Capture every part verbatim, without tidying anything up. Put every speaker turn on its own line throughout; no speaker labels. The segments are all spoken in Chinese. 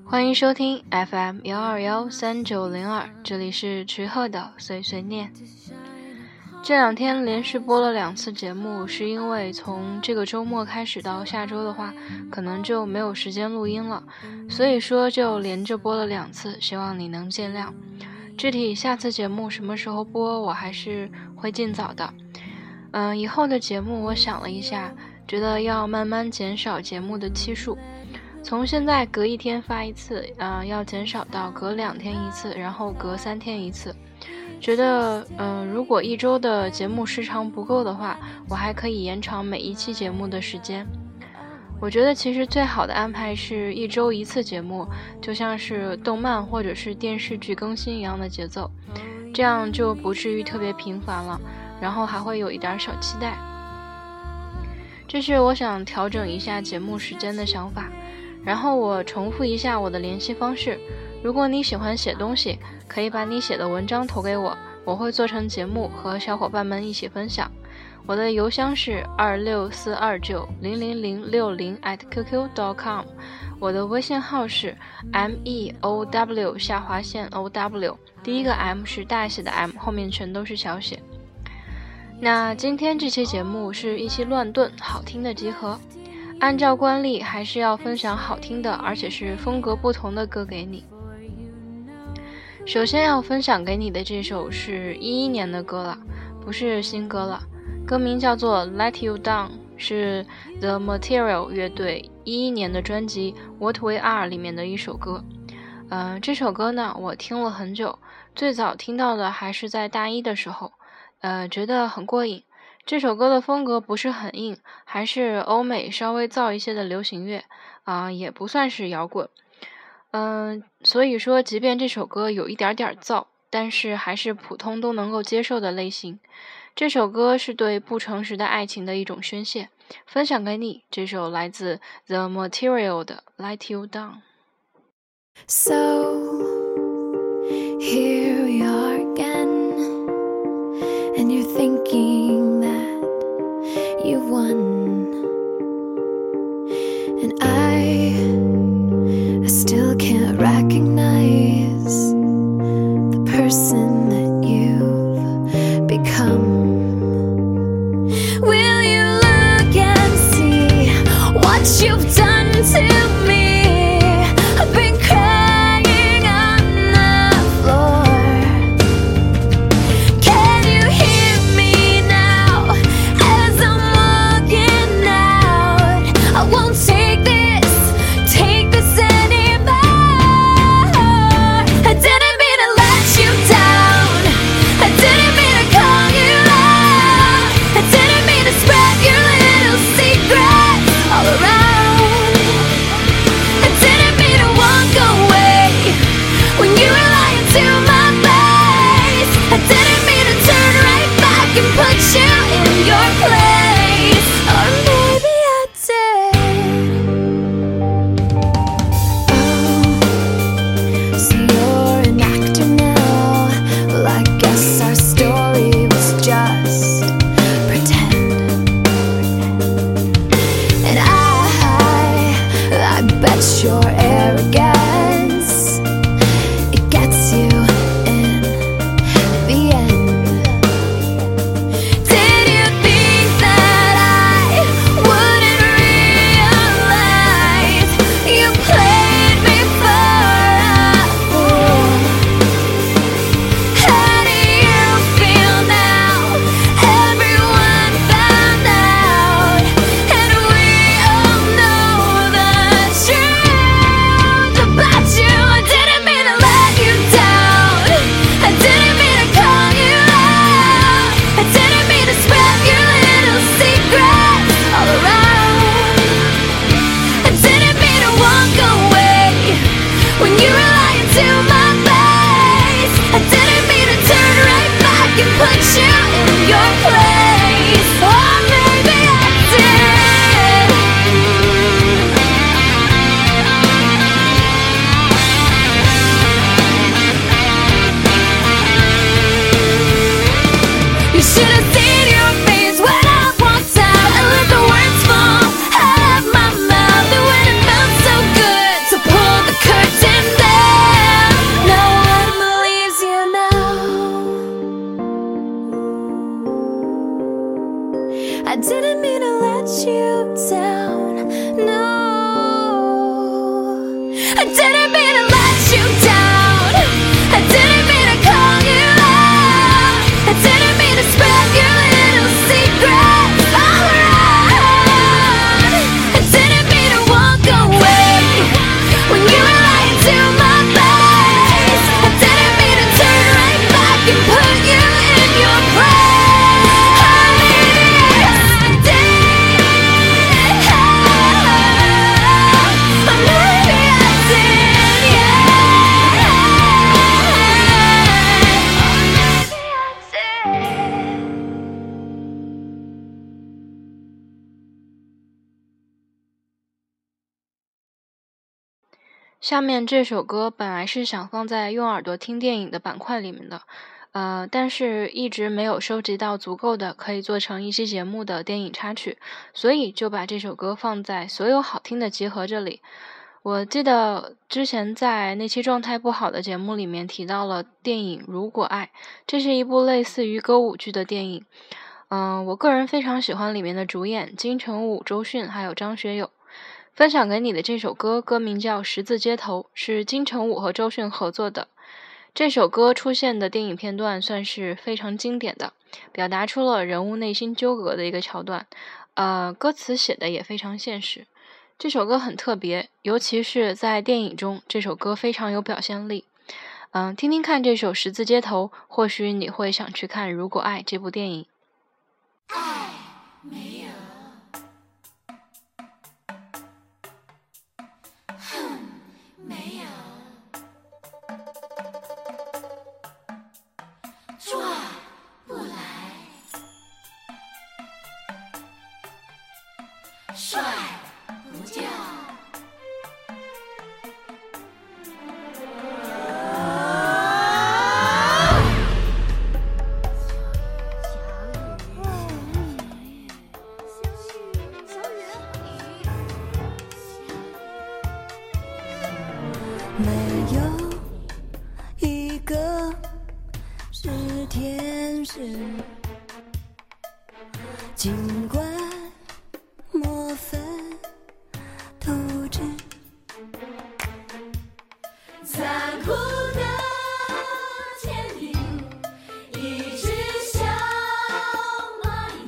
欢迎收听 F M 幺二幺三九零二，这里是池鹤的碎碎念。这两天连续播了两次节目，是因为从这个周末开始到下周的话，可能就没有时间录音了，所以说就连着播了两次，希望你能见谅。具体下次节目什么时候播，我还是会尽早的。嗯、呃，以后的节目我想了一下，觉得要慢慢减少节目的期数，从现在隔一天发一次，呃，要减少到隔两天一次，然后隔三天一次。觉得，嗯、呃，如果一周的节目时长不够的话，我还可以延长每一期节目的时间。我觉得其实最好的安排是一周一次节目，就像是动漫或者是电视剧更新一样的节奏，这样就不至于特别频繁了，然后还会有一点小期待。这是我想调整一下节目时间的想法。然后我重复一下我的联系方式，如果你喜欢写东西，可以把你写的文章投给我，我会做成节目和小伙伴们一起分享。我的邮箱是二六四二九零零零六零 at qq dot com， 我的微信号是 m e o w 下划线 o w， 第一个 M 是大写的 M， 后面全都是小写。那今天这期节目是一期乱炖好听的集合，按照惯例还是要分享好听的而且是风格不同的歌给你。首先要分享给你的这首是一一年的歌了，不是新歌了，歌名叫做 Let You Down， 是 The Material 乐队一一年的专辑 What We Are 里面的一首歌。呃，这首歌呢我听了很久，最早听到的还是在大一的时候，呃，觉得很过瘾。这首歌的风格不是很硬，还是欧美稍微燥一些的流行乐，啊、呃，也不算是摇滚。嗯、呃，所以说即便这首歌有一点点燥，但是还是普通都能够接受的类型。这首歌是对不诚实的爱情的一种宣泄，分享给你这首来自 The Material 的 Let You Down。
So here we are again, and you're thinking that you've won, and I, I still can't recognize the person that you've become. Will you look and see what you've done to me? I've been crying on the floor. Can you hear me now as I'm walking out? I won't take this, take I didn't mean to let you down. No, I didn't mean to let you down. I didn't mean to call you out. I didn't mean to spread your little secrets all around. I didn't mean to walk away when you were lying to my face. I didn't mean to turn right back and put you in your place. I did, or maybe I did, yeah. Or maybe I did.
下面这首歌本来是想放在用耳朵听电影的板块里面的，呃，但是一直没有收集到足够的可以做成一期节目的电影插曲，所以就把这首歌放在所有好听的集合这里。我记得之前在那期状态不好的节目里面提到了电影《如果爱》，这是一部类似于歌舞剧的电影。嗯、呃，我个人非常喜欢里面的主演金城武、周迅还有张学友。分享给你的这首歌歌名叫《十字街头》，是金城武和周迅合作的。这首歌出现的电影片段算是非常经典的，表达出了人物内心纠葛的一个桥段。呃，歌词写的也非常现实。这首歌很特别，尤其是在电影中，这首歌非常有表现力。嗯、呃，听听看这首《十字街头》，或许你会想去看《如果爱》这部电影。
爱没有，恨没有，转不来，甩不掉。没有一个是天使，尽管莫分透支，残酷的天地一直像蚂蚁，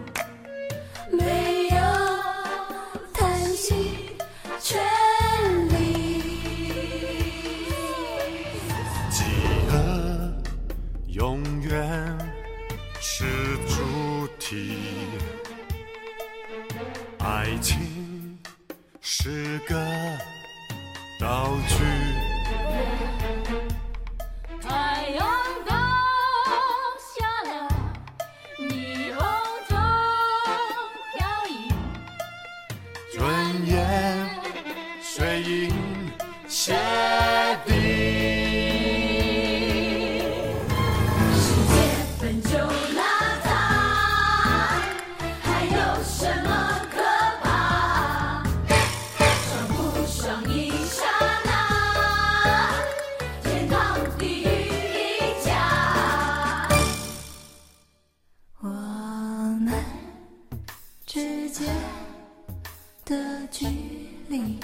没有叹息权利。
饥饿永远是主题，爱情是个道具。
太阳高下了，霓虹中飘逸，
尊严水银泻地。
世界本就邋遢，还有什么可怕？爽不爽一刹那，天堂地狱一家。我们之间的距离，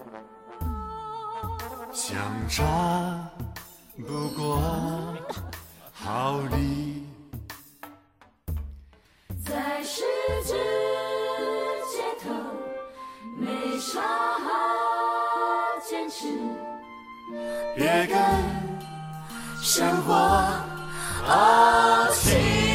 相差不过毫厘，
在十字街头没啥好坚持，
别跟生活怄气。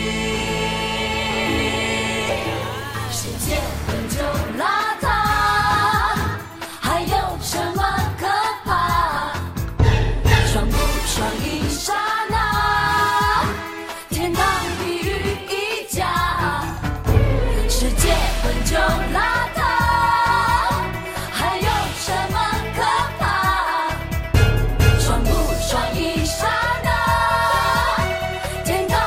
世界本就邋遢，还有什么可怕？爽不爽一刹那，天堂地狱一家。世界本就邋遢，还有什么可怕？爽不爽一刹那，天堂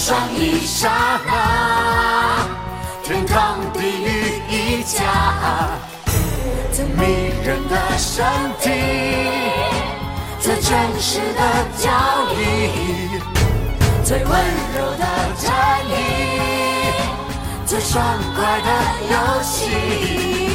上一刹那，天堂地狱一家，最迷人的身体，最真实的交易，最温柔的战役，最爽快的游戏。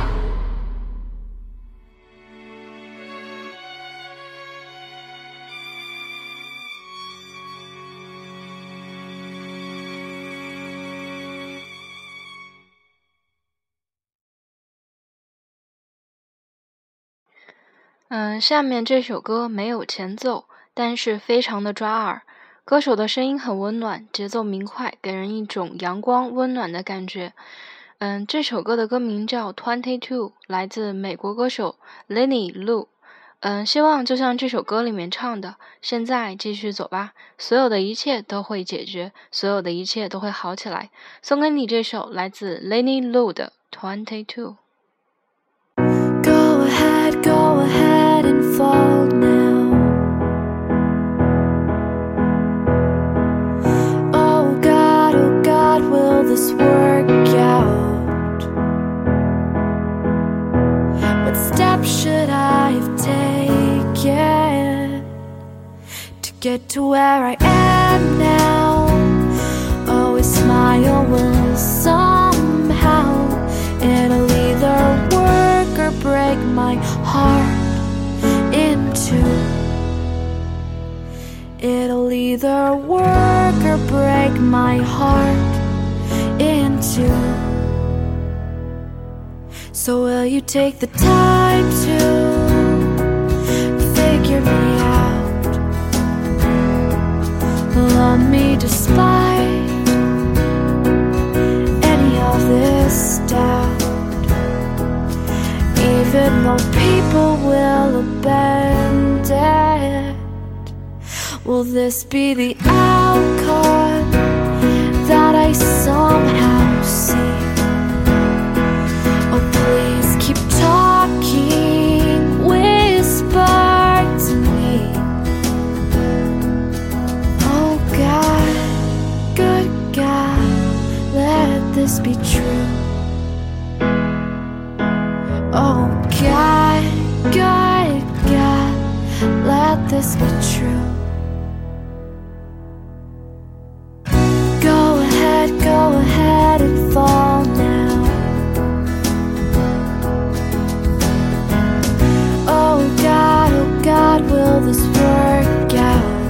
嗯，下面这首歌没有前奏，但是非常的抓耳。歌手的声音很温暖，节奏明快，给人一种阳光温暖的感觉。嗯，这首歌的歌名叫 Twenty Two， 来自美国歌手 Lenny Lu。嗯，希望就像这首歌里面唱的，现在继续走吧，所有的一切都会解决，所有的一切都会好起来。送给你这首来自 Lenny Lu 的 Twenty Two。Go ahead, go ahead and fall now. Oh God, oh God, will this work out? What steps should I have taken to get to where I am now? Always smile will somehow it'll either work or break my heart in two. It'll either work or break my heart in two. So will you take the time to figure me out? Love me despite any of this doubt. Even though people will abandon, will this be the outcome that I somehow see? Oh, please keep talking, whisper to me. Oh God, good God, let this be true. Oh God, God, God, let this be true. Go ahead, go ahead and fall now. Oh God, oh God, will this work out?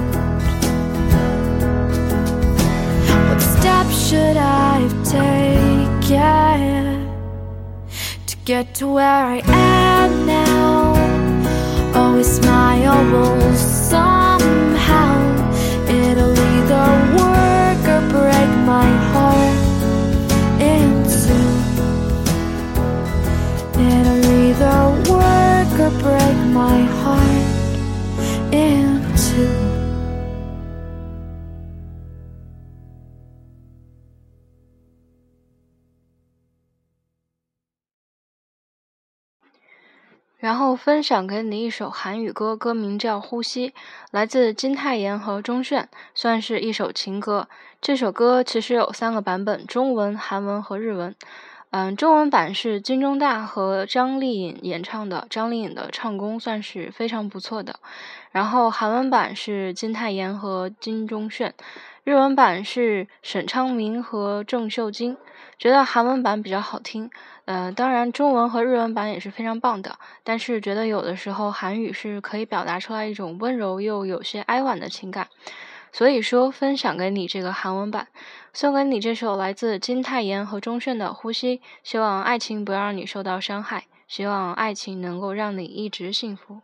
What steps should I have taken to get to where I am now? Always smile will somehow it'll either work or break my heart in two. It'll either work or break my heart in two.然后分享给你一首韩语歌，歌名叫《呼吸》，来自金泰妍和钟铉，算是一首情歌。这首歌其实有三个版本，中文、韩文和日文。嗯，中文版是金钟大和张丽颖演唱的，张丽颖的唱功算是非常不错的。然后韩文版是金泰妍和金钟铉，日文版是沈昌明和郑秀晶。觉得韩文版比较好听，呃，当然中文和日文版也是非常棒的，但是觉得有的时候韩语是可以表达出来一种温柔又有些哀婉的情感，所以说分享给你这个韩文版，送给你这首来自金泰妍和钟铉的《呼吸》，希望爱情不要让你受到伤害，希望爱情能够让你一直幸福。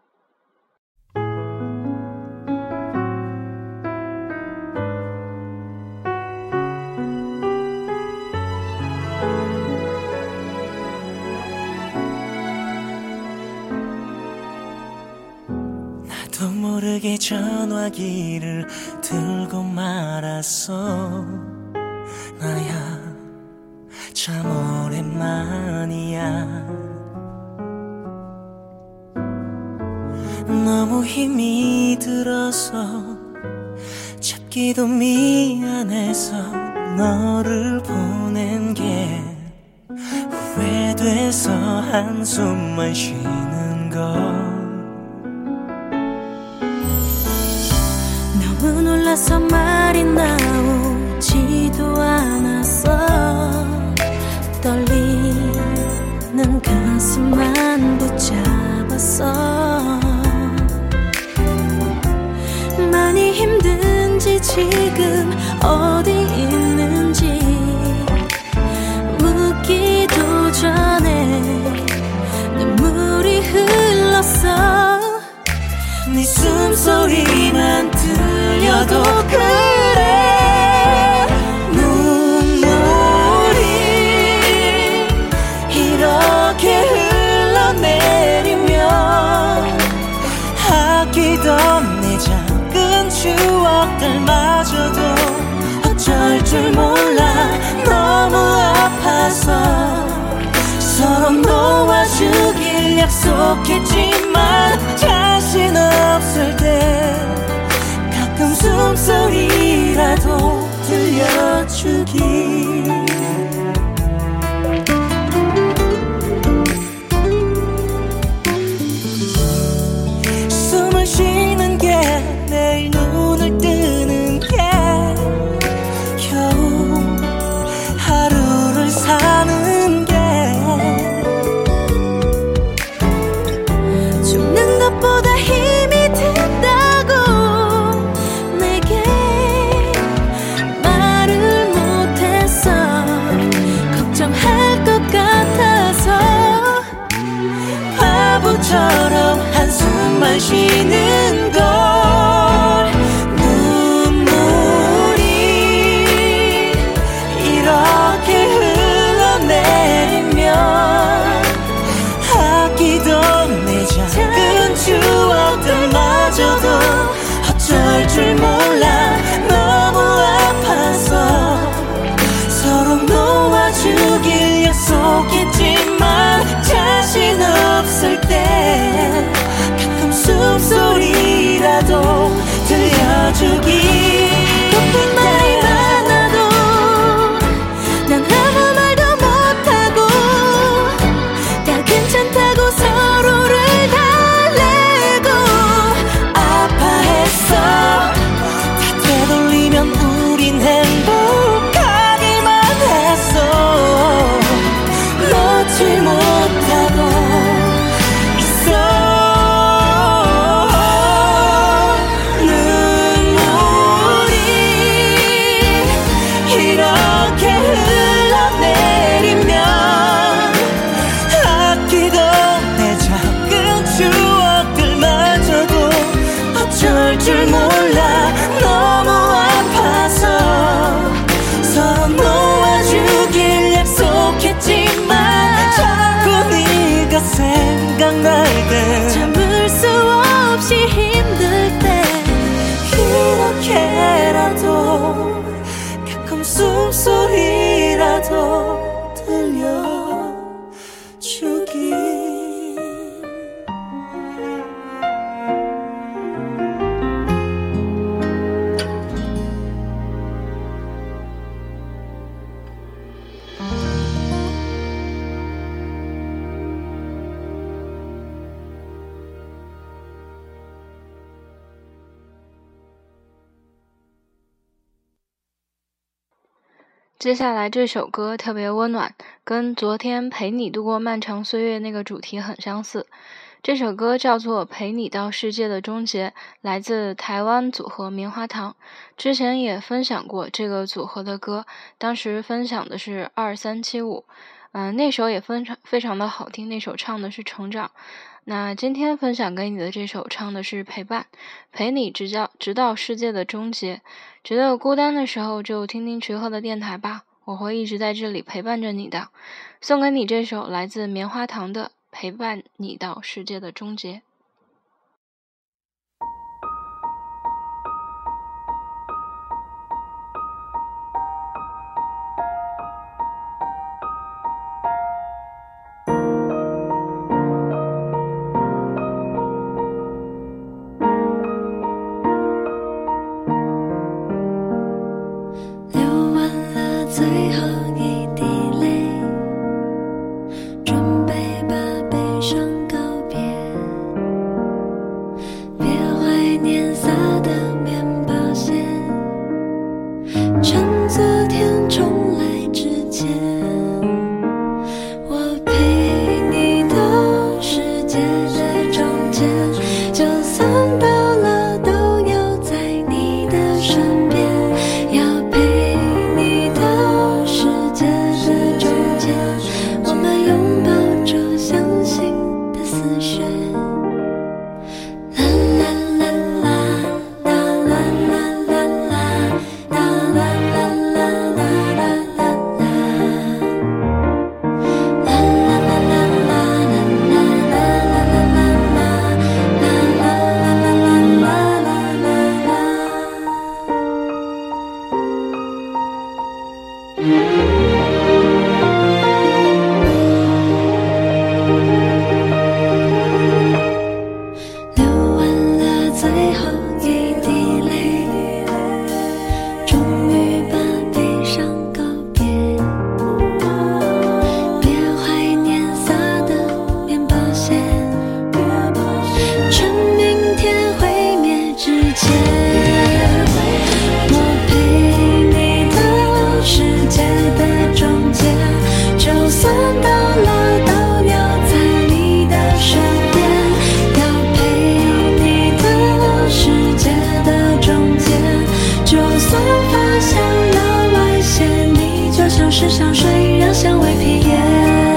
나도 모르게 전화기를 들고 말았어. 나야 참 오랜만이야. 너무 힘이 들어서 웃기도 미안해서 너를 보낸 게 후회돼서 한숨만 쉬는 걸
너무 놀라서 말이 나오지도 않았어 떨리는 가슴만 붙잡았어 많이 힘든지 지금 어디 있는지 묻기도 전에 눈물이 흘렀어
네 숨소리만 들려도 그래 눈물이 이렇게 흘러내리면 아끼던 내 작은 추억들마저도 어쩔 줄 몰라 너무 아파서 서로 놓아주길 약속했지만 자신 없을 때 가끔 숨소리라도 들려주기 숨을 쉬는 게 내일 눈을 뜨는 게 겨우 하루를 사는 게
죽는 것보다 힘이 든다고 내게 말을 못했어 걱정할 것 같아서
바보처럼 한숨만 쉬는 걸 눈물이 이렇게 흘러내리면 아끼던 내 작은 추억들마저도 어쩔 줄 몰라 너무 아파서 서로 놓아주길 약속했지만 자신 없을 때 가끔 숨소리라도 들려주기
높은 말이 많아도 난 아무 말도 못하고 다 괜찮다고 서로를 달래고
아파했어 다 되돌리면 우린 행복하기만 했어 놓지 못하고 있어 눈물이 이렇게 흘러내리면 아끼던 내 작은 추억들마저도 어쩔 줄 몰라 너무 아파서 서로 놓아주길 약속했지만 자꾸 네가 생각날 때
참을 수 없이 힘들 때
이렇게라도 가끔 숨소리라도 들려주기
接下来这首歌特别温暖，跟昨天陪你度过漫长岁月那个主题很相似。这首歌叫做《陪你到世界的终结》，来自台湾组合棉花糖。之前也分享过这个组合的歌，当时分享的是二三七五，嗯，那首也非常非常的好听，那首唱的是成长。那今天分享给你的这首唱的是陪伴，陪你直到直到世界的终结。觉得孤单的时候就听听徐鹤的电台吧，我会一直在这里陪伴着你的。送给你这首来自棉花糖的《陪伴你到世界的终结》。
上告别，别怀念撒的面包屑，趁昨天重来之前，我陪你到世界的中间，就算到了都要在你的身边，要陪你到世界的中间，我们拥抱着相信的丝线。啦啦啦啦啦啦啦啦啦啦啦啦啦啦流完了最后一滴泪，终于把悲伤告别，别怀念撒的面包屑，趁明天毁灭之前，我陪你到世界的中间，就算到了都要在你的身边，要陪你到世界的中间，就算发现了外线，你就像是香水，让香味披野。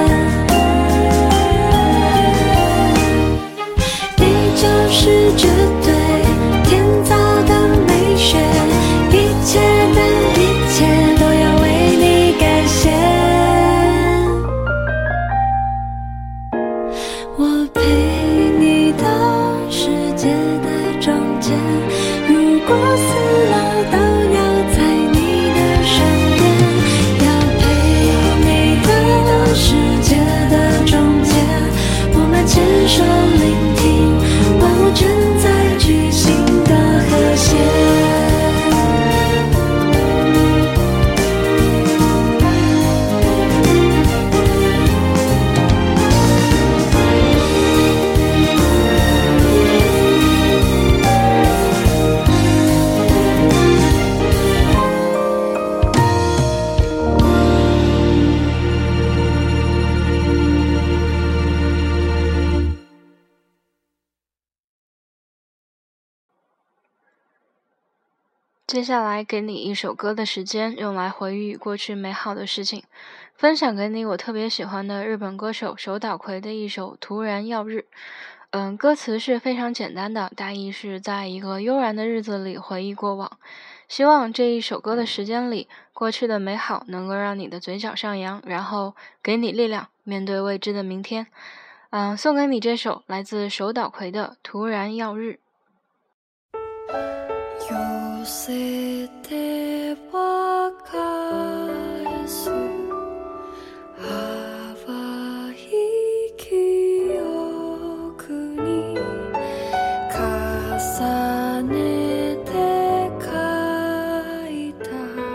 你就是绝对天造的美学，一切的一切都要为你感谢。我陪你到世界的中间，如果死了都要在你的身边，要陪你到世界的中间，我们牵手聆听万物正在举行的和谐。
接下来给你一首歌的时间，用来回忆过去美好的事情，分享给你我特别喜欢的日本歌手手岛葵的一首《突然耀日》。嗯，歌词是非常简单的，大意是在一个悠然的日子里回忆过往。希望这一首歌的时间里，过去的美好能够让你的嘴角上扬，然后给你力量，面对未知的明天。嗯，送给你这首来自手岛葵的《突然耀日》。
寄せては返す淡い記憶に重ねて描いた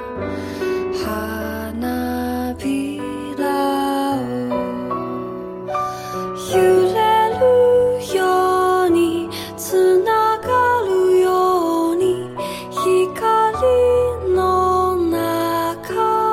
花びらを揺れるようにつながるように光の中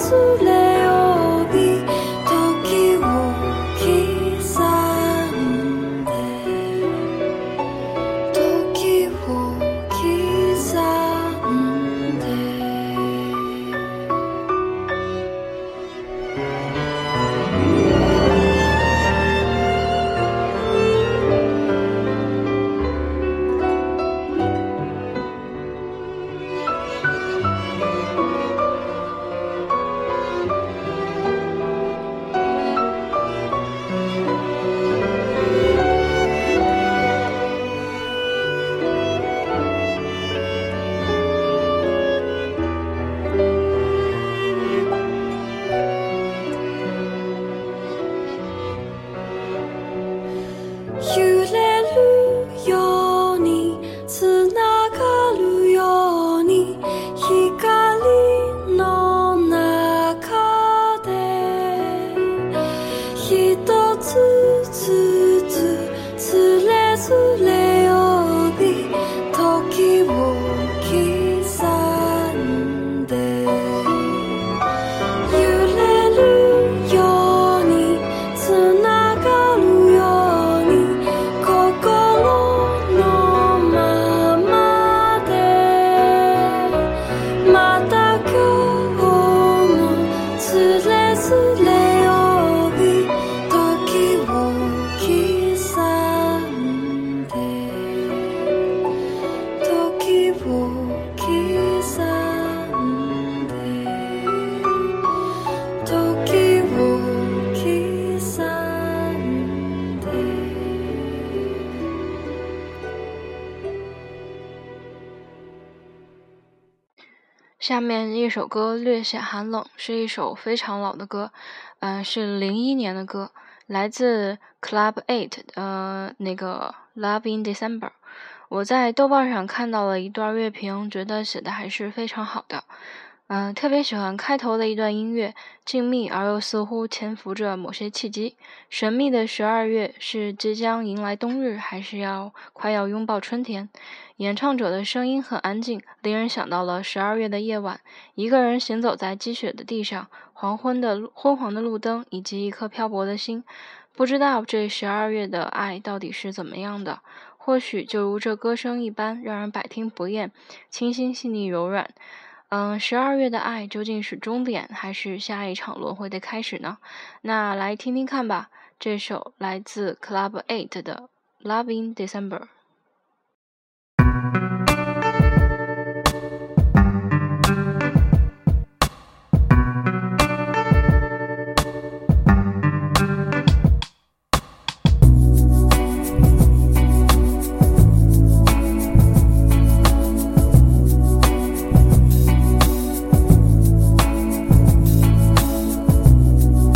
下面一首歌略显寒冷，是一首非常老的歌，嗯、呃，是零一年的歌，来自 Club Eight 呃那个 Love in December。我在豆瓣上看到了一段乐评，觉得写的还是非常好的。嗯、呃，特别喜欢开头的一段音乐，静谧而又似乎潜伏着某些契机。神秘的十二月是即将迎来冬日，还是要快要拥抱春天？演唱者的声音很安静，令人想到了十二月的夜晚，一个人行走在积雪的地上，黄昏的昏黄的路灯，以及一颗漂泊的心。不知道这十二月的爱到底是怎么样的？或许就如这歌声一般，让人百听不厌，清新细腻柔软。嗯，十二月的爱究竟是终点，还是下一场轮回的开始呢？那来听听看吧，这首来自 Club Eight 的 Love in December。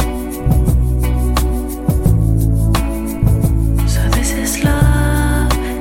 So this is love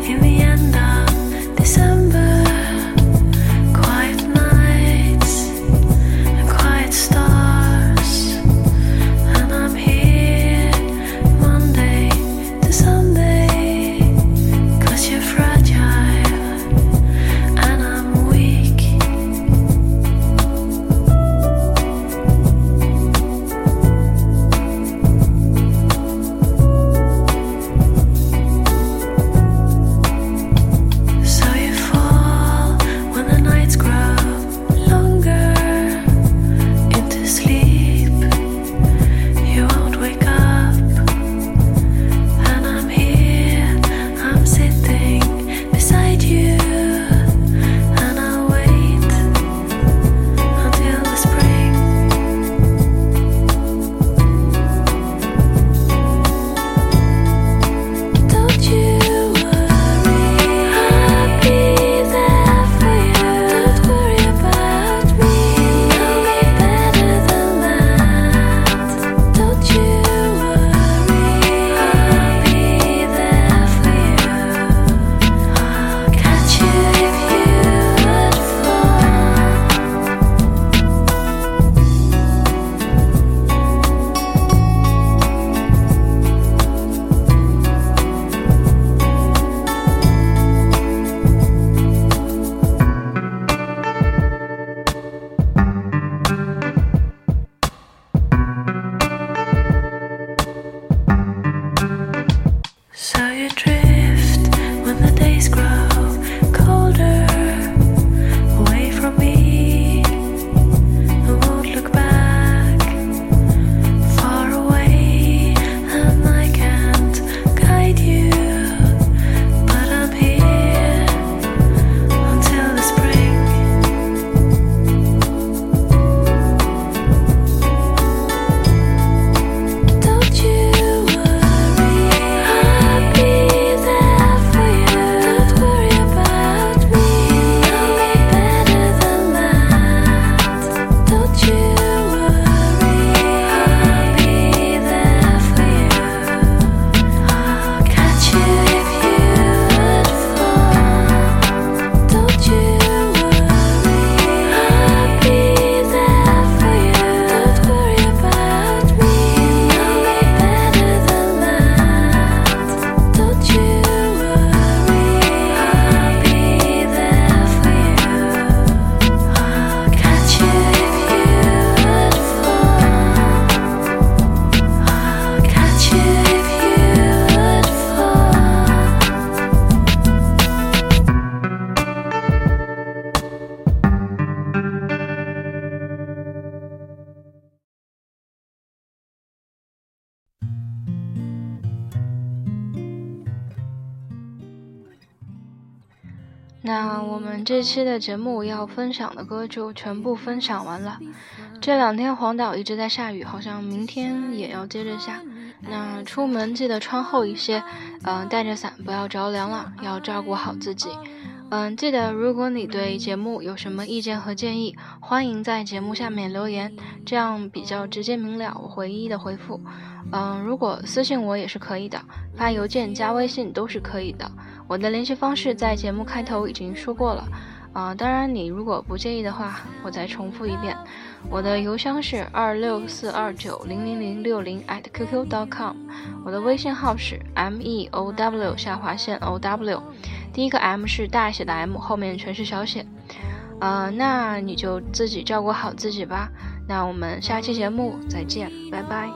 那我们这期的节目要分享的歌就全部分享完了。这两天黄岛一直在下雨，好像明天也要接着下。那出门记得穿厚一些，嗯、呃，带着伞，不要着凉了，要照顾好自己。嗯，记得如果你对节目有什么意见和建议，欢迎在节目下面留言，这样比较直接明了，我会一一的回复。嗯，如果私信我也是可以的，发邮件加微信都是可以的。我的联系方式在节目开头已经说过了，啊、呃，当然你如果不介意的话，我再重复一遍，我的邮箱是二六四二九零零零六零 at qq dot com， 我的微信号是 meow 下划线 ow， 第一个 M 是大写的 M， 后面全是小写。呃，那你就自己照顾好自己吧。那我们下期节目再见，拜拜。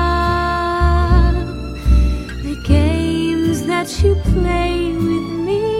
The games that you play with me